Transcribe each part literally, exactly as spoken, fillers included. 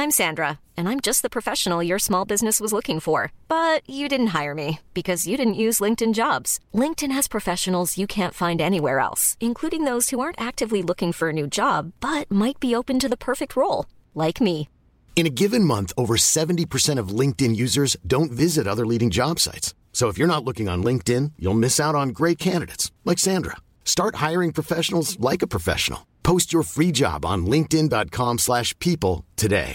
I'm Sandra, and I'm just the professional your small business was looking for. But you didn't hire me because you didn't use LinkedIn Jobs. LinkedIn has professionals you can't find anywhere else, including those who aren't actively looking for a new job, but might be open to the perfect role, like me. In a given month, over seventy percent of LinkedIn users don't visit other leading job sites. So if you're not looking on LinkedIn, you'll miss out on great candidates, like Sandra. Start hiring professionals like a professional. Post your free job on linkedin.com slash people today.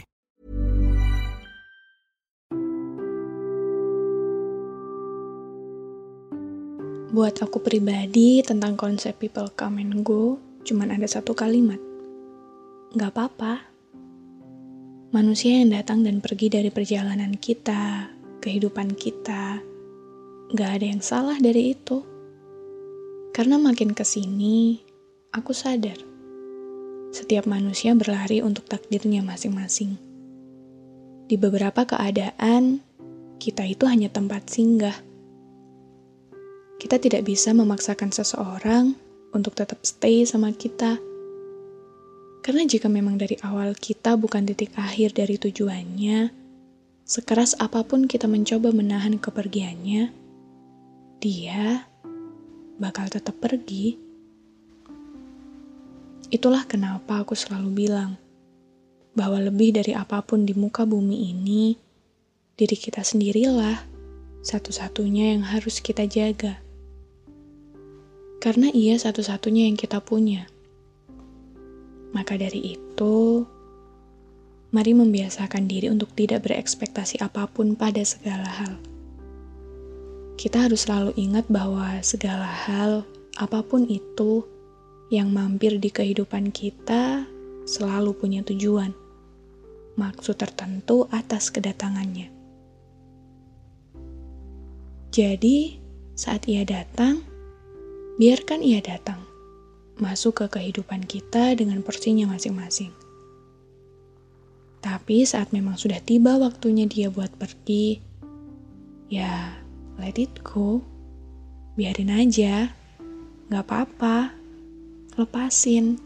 Buat aku pribadi, tentang konsep people come and go, cuman ada satu kalimat. Gak apa-apa. Manusia yang datang dan pergi dari perjalanan kita, kehidupan kita, gak ada yang salah dari itu. Karena makin kesini, aku sadar, setiap manusia berlari untuk takdirnya masing-masing. Di beberapa keadaan, kita itu hanya tempat singgah. Kita tidak bisa memaksakan seseorang untuk tetap stay sama kita. Karena jika memang dari awal kita bukan titik akhir dari tujuannya, sekeras apapun kita mencoba menahan kepergiannya, dia bakal tetap pergi. Itulah kenapa aku selalu bilang bahwa lebih dari apapun di muka bumi ini, diri kita sendirilah satu-satunya yang harus kita jaga. Karena ia satu-satunya yang kita punya. Maka dari itu, mari membiasakan diri untuk tidak berekspektasi apapun pada segala hal. Kita harus selalu ingat bahwa segala hal, apapun itu, yang mampir di kehidupan kita selalu punya tujuan, maksud tertentu atas kedatangannya. Jadi, saat ia datang, biarkan ia datang, masuk ke kehidupan kita dengan porsinya masing-masing. Tapi saat memang sudah tiba waktunya dia buat pergi, ya let it go, biarin aja, gak apa-apa, lepasin.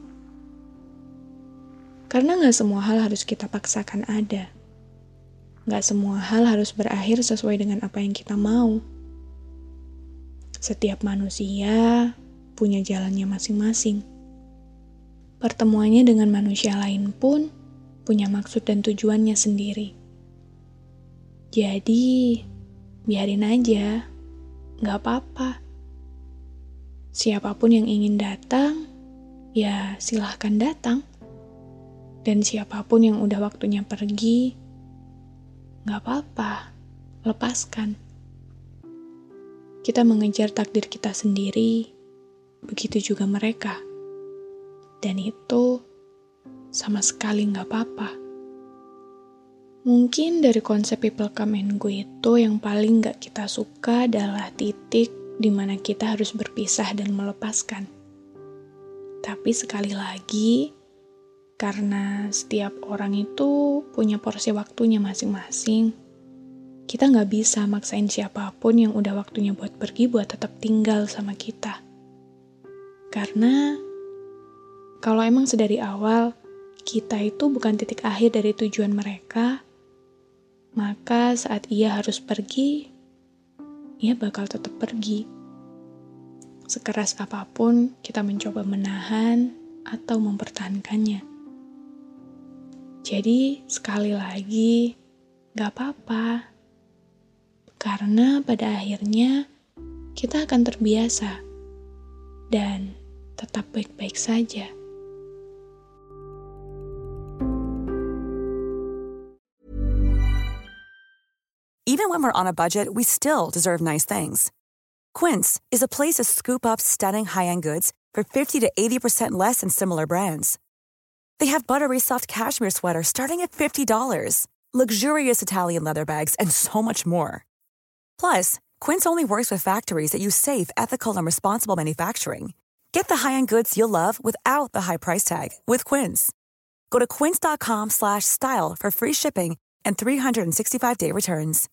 Karena gak semua hal harus kita paksakan ada. Gak semua hal harus berakhir sesuai dengan apa yang kita mau. Setiap manusia punya jalannya masing-masing. Pertemuannya dengan manusia lain pun punya maksud dan tujuannya sendiri. Jadi, biarin aja, gak apa-apa. Siapapun yang ingin datang, ya silahkan datang. Dan siapapun yang udah waktunya pergi, gak apa-apa, lepaskan. Kita mengejar takdir kita sendiri, begitu juga mereka. Dan itu sama sekali gak apa-apa. Mungkin dari konsep people come and go itu yang paling gak kita suka adalah titik di mana kita harus berpisah dan melepaskan. Tapi sekali lagi, karena setiap orang itu punya porsi waktunya masing-masing, kita gak bisa maksain siapapun yang udah waktunya buat pergi buat tetap tinggal sama kita. Karena kalau emang sedari awal kita itu bukan titik akhir dari tujuan mereka, maka saat ia harus pergi, ia bakal tetap pergi. Sekeras apapun kita mencoba menahan atau mempertahankannya. Jadi sekali lagi, gak apa-apa. Karena pada akhirnya kita akan terbiasa dan tetap baik-baik saja. Even when we're on a budget, we still deserve nice things. Quince is a place to scoop up stunning high-end goods for fifty to eighty percent less than similar brands. They have buttery soft cashmere sweaters starting at fifty dollars, luxurious Italian leather bags, and so much more. Plus, Quince only works with factories that use safe, ethical, and responsible manufacturing. Get the high-end goods you'll love without the high price tag with Quince. Go to quince.com slash style for free shipping and three sixty-five day returns.